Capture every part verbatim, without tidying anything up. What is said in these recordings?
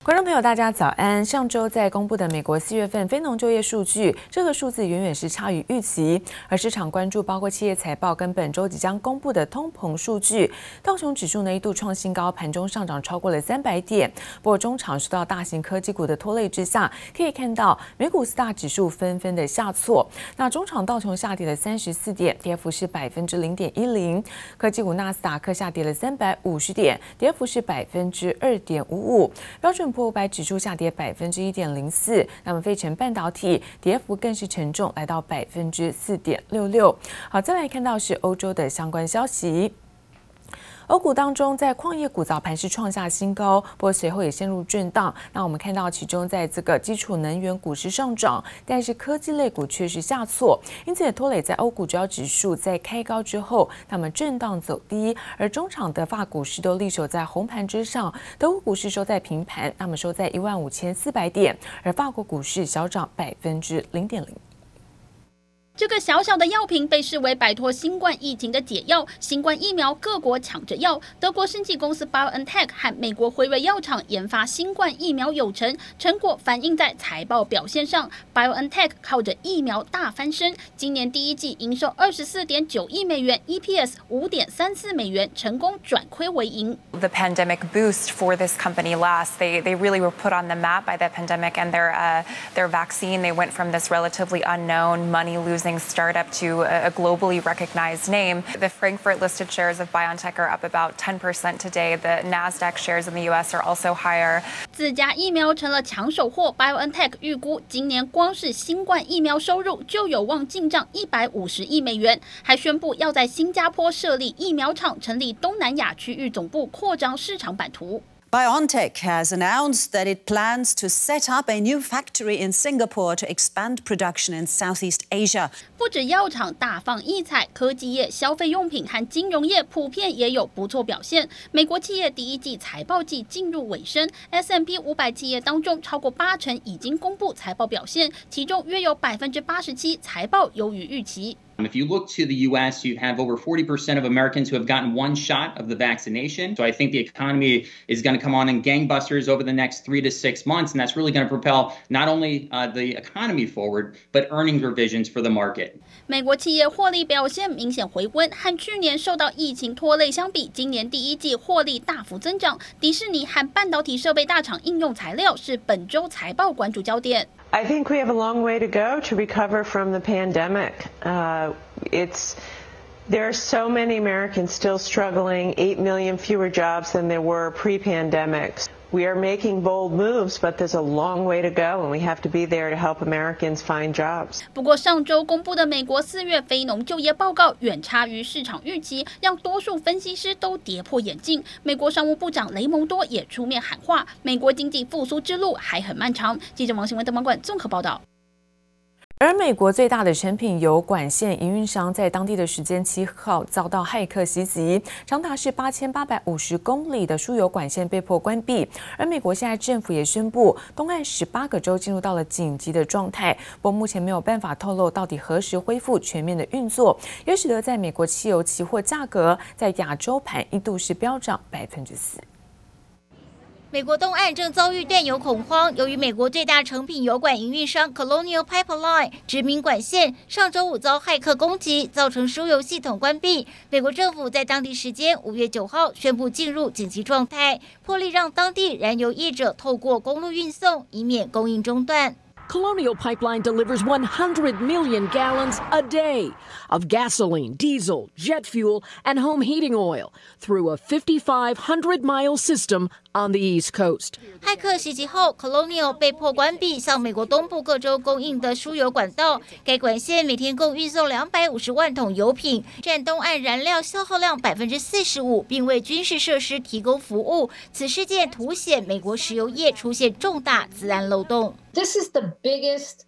觀眾朋友，大家早安。上周在公布的美國四月份非農就業數據，這個數字遠遠是差於預期，而市場關注包括企業財報跟本周即將公布的通膨數據。道瓊指數呢一度創新高，盤中上漲超過了三百點。不過中場受到大型科技股的拖累之下，可以看到美股四大指數紛紛的下挫。那中場道瓊下跌了三十四點，跌幅是百分之零點一零。科技股納斯達克下跌了三百五十點，跌幅是百分之二點五五。標準普爾五百指數下跌百分之一點零四，那麼費城半導體跌幅更是沉重，來到百分之四點六六。好，再來看到是歐洲的相關消息。歐股當中，在礦業股早盤是創下新高，不過隨後也陷入震盪。那我們看到，其中在這個基礎能源股市上漲，但是科技類股卻是下挫，因此也拖累在歐股主要指數在開高之後，那麼震盪走低。而中場德法股市都力守在紅盤之上，德國股市收在平盤，那麼收在一萬五千四百點，而法國股市小漲百分之零點零。 這個小小的藥品被視為擺脫新冠疫情的解藥，新冠疫苗各國搶着要。德國生技公司 BioNTech 和美國輝瑞藥廠研發新冠疫苗有成，成果反映在財報表現上。BioNTech 靠着疫苗大翻身，今年第一季營收二十四點九億美元 ，E P S 五點三四美元，成功轉虧為盈。 The pandemic boost for this company last, they they really were put on the map by the pandemic and their uh, their vaccine. They went from this relatively unknown, money-losing startup to a globally recognized name. The Frankfurt-listed shares of BioNTech are up about ten percent today. The Nasdaq shares in the U S are also higher. 自家疫苗成了搶手貨 ，BioNTech 預估今年光是新冠疫苗收入就有望進賬一百五十億美元，還宣布要在新加坡設立疫苗廠，成立東南亞區域總部，擴張市場版圖。 BioNTech has announced that it plans to set up a new factory in Singapore to expand production in Southeast Asia. 不止藥廠大放異彩，科技業、消費用品和金融業普遍也有不錯表現。美國企業第一季財報季進入尾聲 ，S and P 五百企業當中超過八成已經公布財報表現，其中約有百分之八十七財報優於預期。 If you look to the U S, you have over forty percent of Americans who have gotten one shot of the vaccination. So I think the economy is going to come on in gangbusters over the next three to six months, and that's really going to propel not only uh, the economy forward, but earnings revisions for the market. 美國企業獲利表現明顯回溫，和去年受到疫情拖累相比，今年第一季獲利大幅增長。迪士尼和半導體設備大廠應用材料是本周財報關注焦點。 I think we have a long way to go to recover from the pandemic. Uh, it's there are so many Americans still struggling, eight million fewer jobs than there were pre-pandemic. We are making bold moves, but there's a long way to go, and we have to be there to help Americans find jobs. 不過上周公布的美國四月非農就業報告遠差於市場預期，讓多數分析師都跌破眼鏡。美國商務部長雷蒙多也出面喊話，美國經濟復甦之路還很漫長。記者王新文、鄧芒冠綜合報道。 而美國最大的成品油管線營運商在當地的時間七號遭到駭客襲擊，長達是八千八百五十公里的輸油管線被迫關閉。而美國現在政府也宣布，東岸十八個州進入到了緊急的狀態，不過目前沒有辦法透露到底何時恢復全面的運作，也使得在美國汽油期貨價格在亞洲盤一度是飆漲百分之四。 美國東岸正遭遇斷油恐慌，由於美國最大成品油管營運商 Colonial Pipeline 知名管線上周五遭駭客攻擊，造成輸油系統關閉。美國政府在當地時間五月九號宣布進入緊急狀態，破例讓當地燃油業者透過公路運送，以免供應中斷。 Colonial Pipeline delivers one hundred million gallons a day of gasoline, diesel, jet fuel, and home heating oil through a fifty-five hundred mile system on the East Coast. 駭客襲擊後 ，Colonial 被迫關閉向美國東部各州供應的輸油管道。該管線每天共運送兩百五十萬桶油品，佔東岸燃料消耗量百分之四十五，並為軍事設施提供服務。此事件凸顯美國石油業出現重大資安漏洞。 This is the biggest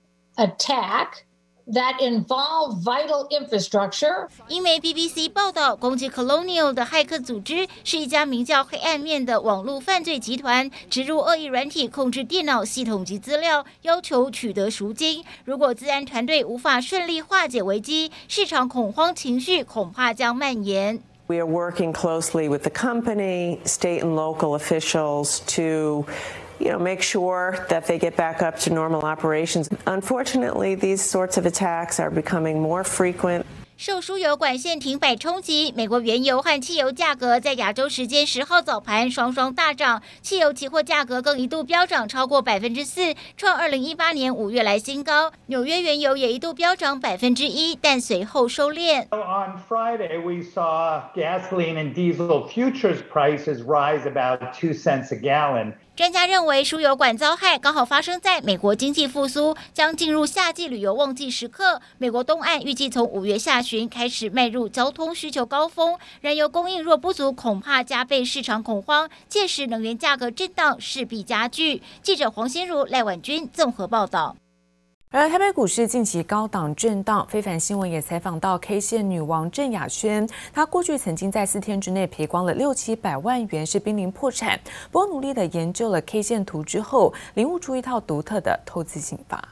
attack that involve vital infrastructure. 英媒 B B C 報道，攻擊 Colonial 的駭客組織是一家名叫黑暗面的網絡犯罪集團，植入惡意軟體控制電腦系統及資料，要求取得贖金。如果資安團隊無法順利化解危機，市場恐慌情緒恐怕將蔓延。 We are working closely with the company, state and local officials to you know, make sure that they get back up to normal operations. Unfortunately, these sorts of attacks are becoming more frequent. 受输油管线停摆冲擊，美國原油和汽油價格在亞洲時間十號早盤雙雙大漲，汽油期貨價格更一度飆漲超過百分之四，創二零一八年五月來新高。紐約原油也一度飆漲百分之一，但隨後收斂。 On Friday, we saw gasoline and diesel futures prices rise about two cents a gallon. 專家認為，輸油管遭害剛好發生在美國經濟復甦將進入夏季旅遊旺季時刻。美國東岸預計從五月下旬開始邁入交通需求高峰，燃油供應若不足，恐怕加倍市場恐慌，屆時能源價格震盪勢必加劇。記者黃心如、賴婉君綜合報道。 而台北股市近期高檔震盪，非凡新聞也採訪到 K 線女王鄭雅萱，她過去曾經在四天之內賠光了六七百萬元，是瀕臨破產。不過努力的研究了 K 線圖之後，領悟出一套獨特的投資心法。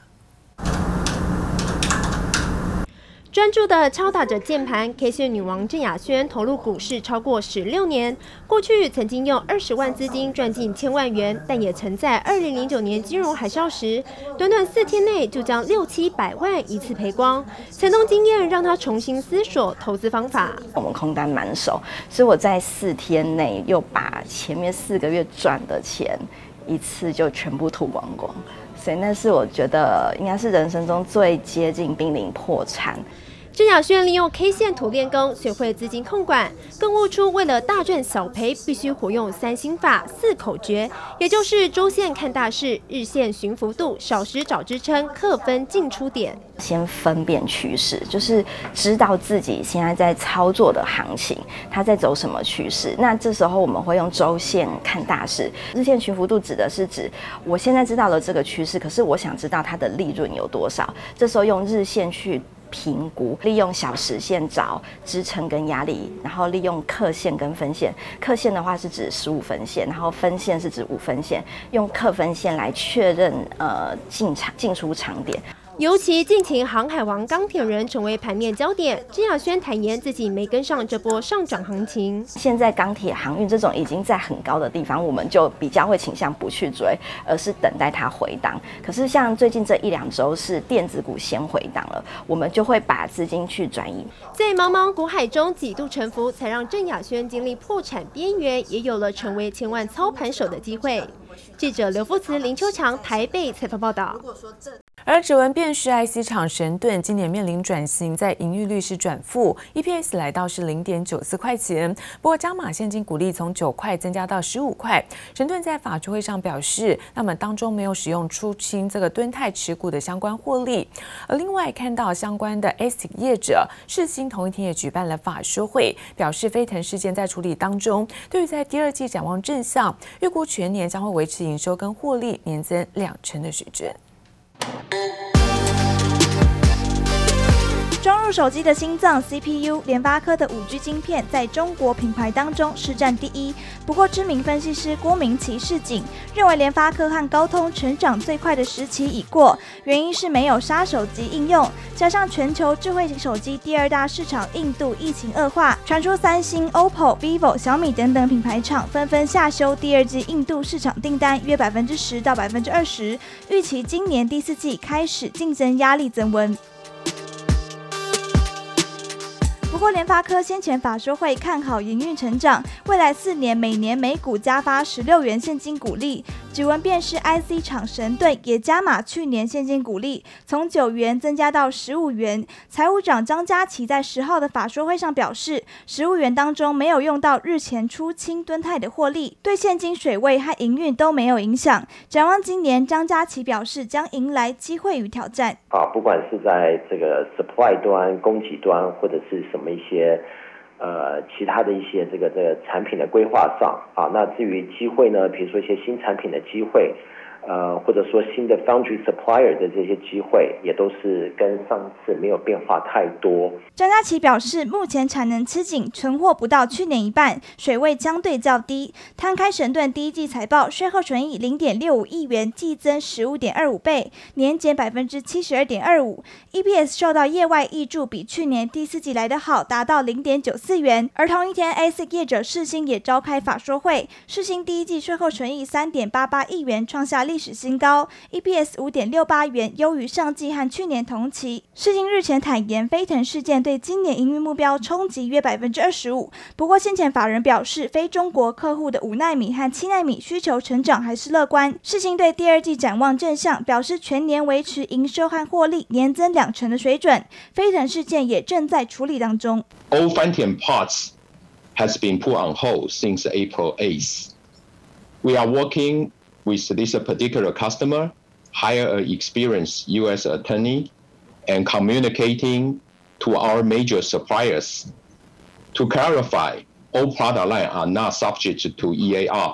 專注地敲打着鍵盤 ，K 線女王鄭雅萱投入股市超過十六年，過去曾經用二十萬資金賺進千萬元，但也曾在二零零九年金融海嘯時，短短四天內就將六七百萬一次賠光。慘痛經驗讓她重新思索投資方法。 我們空單滿手，所以我在四天內又把前面四個月賺的錢一次就全部吐光光。所以那是我覺得應該是人生中最接近瀕臨破產。 鄭雅萱利用 K 線圖練功，學會資金控管，更悟出為了大賺小賠，必須活用三心法、四口訣，也就是週線看大勢，日線尋幅度，小時找支撐，課分進出點。 先分辨趨勢，就是知道自己現在在操作的行情，它在走什麼趨勢。那這時候我們會用週線看大勢，日線尋幅度指的是指我現在知道了這個趨勢，可是我想知道它的利潤有多少。這時候用日線去評估，利用小時線找支撐跟壓力，然後利用課線跟分線。課線的話是指十五分線，然後分線是指五分線，用課分線來確認呃進場進出場點。 尤其近期航海王鋼鐵人成為盤面焦點，鄭雅萱坦言自己沒跟上這波上漲行情。 現在鋼鐵航運這種已經在很高的地方，我們就比較會傾向不去追，而是等待它回檔。可是像最近這一兩週是電子股先回檔了，我們就會把資金去轉移。 在茫茫股海中幾度沉浮，才讓鄭雅萱經歷破產邊緣，也有了成為千萬操盤手的機會。記者劉富慈、林秋強台北採訪報道。 而指紋辨識 I C 廠神盾今年面臨轉型，在盈餘率是轉負 ，E P S 來到是零點九四塊錢。不過加碼現金股利從九塊增加到十五塊。神盾在法說會上表示，那麼當中沒有使用出清這個敦泰持股的相關獲利。而另外看到相關的 A S I C 業者世芯同一天也舉辦了法說會，表示飛騰事件在處理當中，對於在第二季展望正向，預估全年將會維持營收跟獲利年增兩成的水準。 裝入手機的心臟 C P U， 聯發科的五 G 晶片在中國品牌當中市佔第一。不過，知名分析師郭明錤示警，認為聯發科和高通成長最快的時期已過，原因是沒有殺手級應用，加上全球智慧型手機第二大市場印度疫情惡化，傳出三星、O P P O、vivo、小米等等品牌廠紛紛下修第二季印度市場訂單約百分之十到百分之二十，預期今年第四季開始競爭壓力增溫。不過，聯發科先前法說會看好營運成長，未來四年每年每股加發十六元現金股利。指紋辨識 I C 廠神盾也加碼去年現金股利，從九元增加到十五元。財務長張家齊在十號的法說會上表示，十五元當中沒有用到日前出清敦泰的獲利，對現金水位和營運都沒有影響。展望今年，張家齊表示將迎來機會與挑戰。 啊，不管是在這個 supply 端、供給端，或者是什麼一些。呃，其他的一些這個這個產品的規劃上啊，那至於機會呢，比如說一些新產品的機會， 呃，或者說新的 foundry supplier 的這些機會，也都是跟上次沒有變化太多。 張家齊表示，目前產能吃緊，存貨不到去年一半，水位相對較低。攤開神盾第一季財報，稅後純益零點六五億元，季增十五點二五倍，年減百分之七十二點二五。E P S 受到業外挹注，比去年第四季來得好，達到零點九四元。而同一天 ，A S I C 業者世芯也召開法說會，世芯第一季稅後純益三點八八億元，創下歷史新高 ，E P S 五點六八元，優於上季和去年同期。世芯日前坦言，飛騰事件對今年營運目標衝擊約百分之二十五。不過，先前法人表示，非中國客戶的五奈米和七奈米需求成長還是樂觀。世芯對第二季展望正向，表示全年維持營收和獲利年增兩成的水準。飛騰事件也正在處理當中。 All Phantom parts has been put on hold since April eighth. We are working with this particular customer, hire an experienced U S attorney, and communicating to our major suppliers to clarify all product lines are not subject to E A R,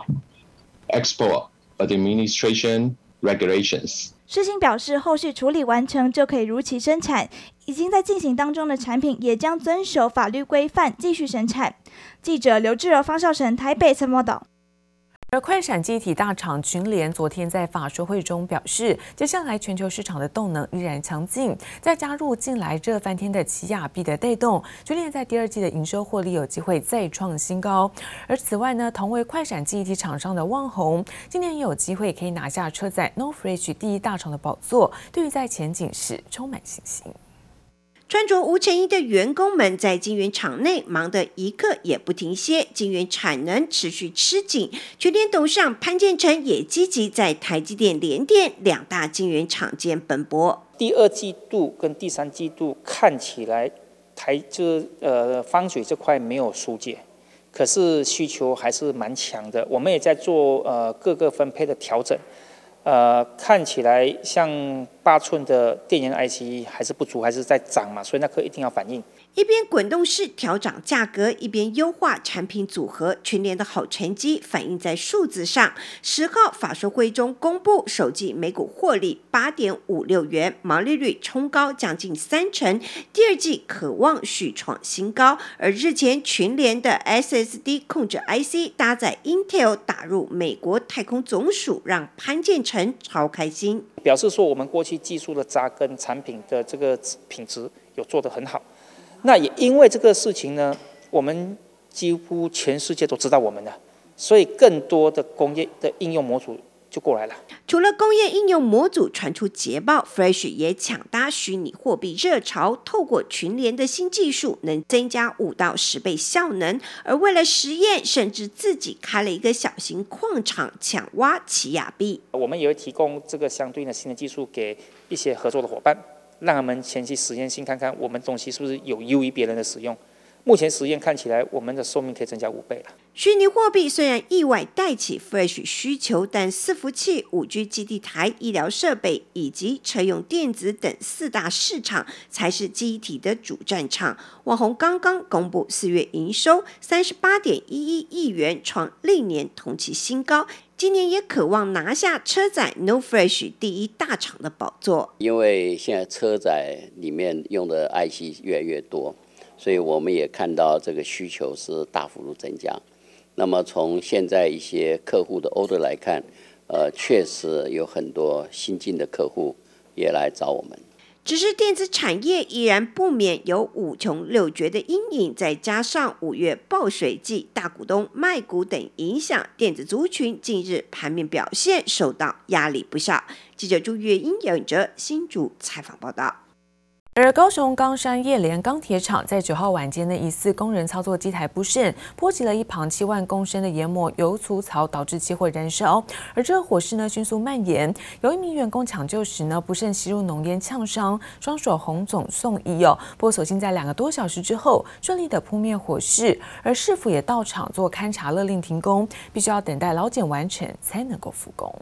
Export Administration Regulations. 世芯表示，後續處理完成就可以如期生產，已經在進行當中的產品也將遵守法律規範繼續生產。記者劉志柔、方少成台北採訪報道。 而快閃記憶體大廠群聯昨天在法說會中表示，接下來全球市場的動能依然強勁，再加入近來熱翻天的奇亞幣的帶動，群聯在第二季的營收獲利有機會再創新高。而此外呢，同為快閃記憶體廠商的旺宏，今年也有機會可以拿下車載 NOR Flash 第一大廠的寶座，對於在前景是充滿信心。 穿着無塵衣的員工們在晶圓廠內忙得一刻也不停歇，晶圓產能持續吃緊。群聯董事長潘建成也積極在台積電、聯電兩大晶圓廠間奔波。 第二季度跟第三季度看起來台就是呃方水這塊沒有疏解，可是需求還是蠻強的。我們也在做呃各個分配的調整。呃，看起來像八寸的電源 I C 還是不足，還是在漲嘛，所以那顆一定要反應。 一邊滾動式調漲價格，一邊優化產品組合，群聯的好成績反映在數字上。十號法說會中公布首季每股獲利八點五六元，毛利率衝高將近三成，第二季可望續創新高。而日前群聯的 S S D 控制 I C 搭載 Intel 打入美國太空總署，讓潘建成超開心， 表示說我們過去技術的扎根，產品的這個品質有做得很好。那也因為這個事情呢，我們幾乎全世界都知道我們了，所以更多的工業的應用模組就過來了。 除了工業應用模組傳出捷報 ，Flash 也搶搭虛擬貨幣熱潮，透過群聯的新技術，能增加五到十倍效能。而為了實驗，甚至自己開了一個小型礦場，搶挖奇亞幣。 我們也會提供這個相對應的新的技術給一些合作的夥伴。讓他們前期實驗性看看我們東西是不是有優於別人的使用。目前實驗看起來，我們的壽命可以增加五倍了。 虛擬貨幣雖然意外帶起 Flash 需求，但伺服器、五 G 基地台、醫療設備以及車用電子等四大市場才是記憶體的主戰場。旺宏剛剛公布四月營收三十八點一一億元，創歷年同期新高。今年也渴望拿下車載 NOR Flash 第一大廠的寶座。 因為現在車載裡面用的 I C 越來越多，所以我們也看到這個需求是大幅度增加。那麼從現在一些客戶的 order 來看，呃，確實有很多新進的客戶也來找我們。 只是電子產業依然不免有五窮六絕的陰影，再加上五月報稅季、大股東賣股等影響，電子族群近日盤面表現受到壓力不小。記者朱月英、姚允哲新竹採訪報道。 而高雄岡山葉聯鋼鐵廠在九號晚間呢，疑似工人操作機台不慎，波及了一旁七萬公升的研磨油粗槽，導致起火燃燒。而這個火勢呢迅速蔓延，有一名員工搶救時呢不慎吸入濃煙嗆傷，雙手紅腫送醫哦。不過所幸在兩個多小時之後順利的撲滅火勢，而市府也到場做勘查勒令停工，必須要等待勞檢完成才能夠復工。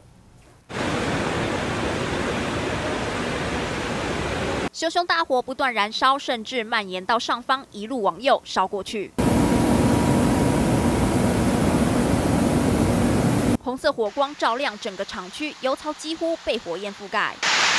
熊熊大火不斷燃燒，甚至蔓延到上方，一路往右燒過去。紅紅色火光照亮整個廠區，油槽幾乎被火焰覆蓋。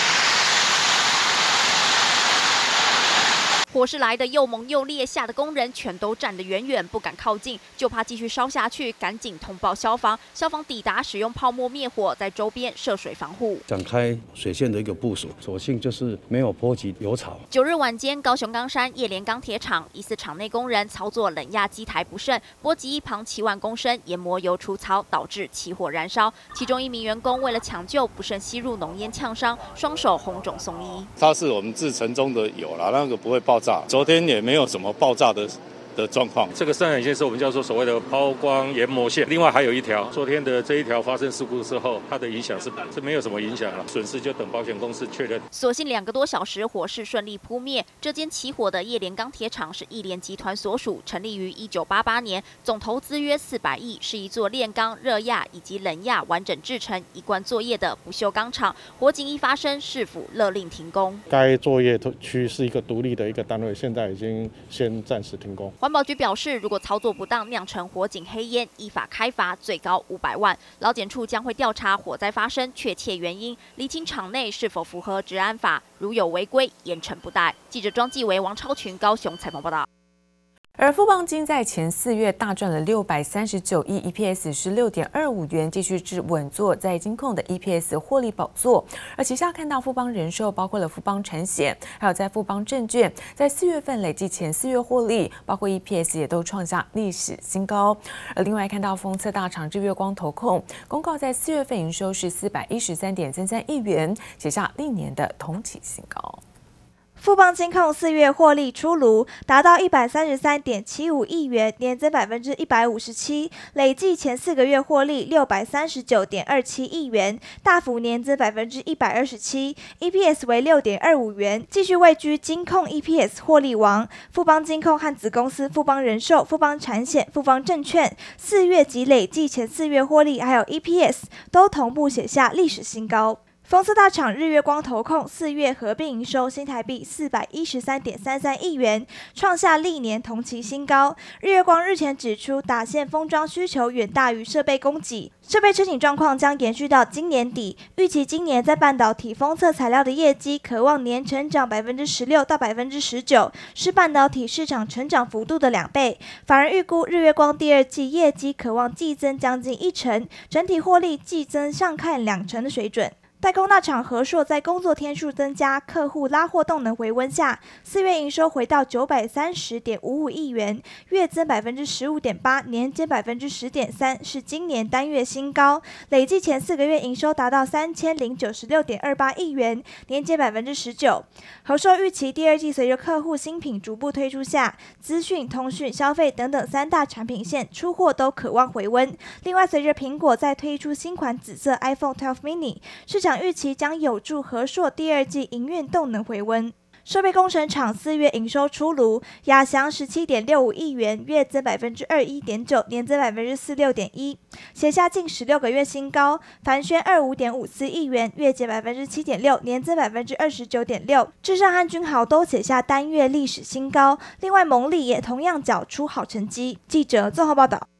火勢來得又猛又烈，嚇得工人全都站得遠遠，不敢靠近，就怕繼續燒下去，趕緊通報消防。消防抵達，使用泡沫滅火，在周邊設水防護， 展開水線的一個部署，所幸就是沒有波及油槽。 九日晚間，高雄岡山葉聯鋼鐵廠疑似廠內工人操作冷壓機台不慎，波及一旁七萬公升研磨油出槽，導致起火燃燒。其中一名員工為了搶救，不慎吸入濃煙嗆傷，雙手紅腫送醫。 它是我們製程中的油啦，那個不會爆炸。昨天也沒有什麼爆炸的的狀況。這個生產線是我們叫做所謂的拋光研磨線，另外還有一條，昨天的這一條發生事故之後，它的影響是是沒有什麼影響了，損失就等保險公司確認。 所幸兩個多小時，火勢順利撲滅。這間起火的葉聯鋼鐵廠是億聯集團所屬，成立於一九八八年，總投資約四百億，是一座煉鋼、熱軋以及冷軋完整製成、一貫作業的不鏽鋼廠。火警一發生，市府勒令停工。 該作業區是一個獨立的一個單位，現在已經先暫時停工。 環保局表示，如果操作不當釀成火警黑煙，依法開罰最高五百萬。勞檢處將會調查火災發生確切原因，釐清廠內是否符合治安法，如有違規，嚴懲不貸。記者莊繼維、王超群高雄採訪報道。 而富邦金在前四月大賺了六百三十九億 ，E P S 是六點二五元，繼續至穩坐在金控的 E P S 獲利寶座。而旗下看到富邦人壽，包括了富邦產險，還有在富邦證券，在四月份累計前四月獲利，包括 E P S 也都創下歷史新高。而另外看到封測大廠日月光投控公告，在四月份營收是四百一十三點三三億元，寫下歷年的同期新高。 富邦金控四月獲利出爐，達到一百三十三點七五億元，年增百分之一百五十七，累計前四個月獲利六百三十九點二七億元，大幅年增百分之一百二十七 ，E P S 為六點二五元，繼續位居金控 E P S 獲利王。富邦金控和子公司富邦人壽、富邦產險、富邦證券四月及累計前四月獲利還有 E P S 都同步寫下歷史新高。封測大廠日月光投控四月合併營收新台幣四百一十三點三三億元，創下歷年同期新高。日月光日前指出，打線封裝需求遠大於設備供給，設備吃緊狀況將延續到今年底。預期今年在半導體封測材料的業績可望年成長百分之十六到百分之十九，是半導體市場成長幅度的兩倍。反而預估日月光第二季業績可望季增將近一成，整體獲利季增上看兩成的水準。代工大廠和碩在工作天數增加、客戶拉貨動能回溫下，四月營收回到九百三十點五五億元，月增百分之十五點八，年減百分之十點三，是今年單月新高。累計前四個月營收達到三千零九十六點二八億元，年減百分之十九。和碩預期第二季隨着客戶新品逐步推出下，資訊、通訊、消費等等三大產品線出貨都可望回溫。另外，隨着蘋果再推出新款紫色 iPhone 十二 mini， 市場預期將有助和碩第二季營運動能回溫。設備工程廠四月營收出爐，亞翔十七點六五億元，月增百分之二一點九，年增百分之四六點一，寫下近十六個月新高。凡軒二五點五四億元，月減百分之七點六，年增百分之二十九點六。至上和君豪都寫下單月歷史新高，另外蒙利也同樣繳出好成績。記者綜合報道。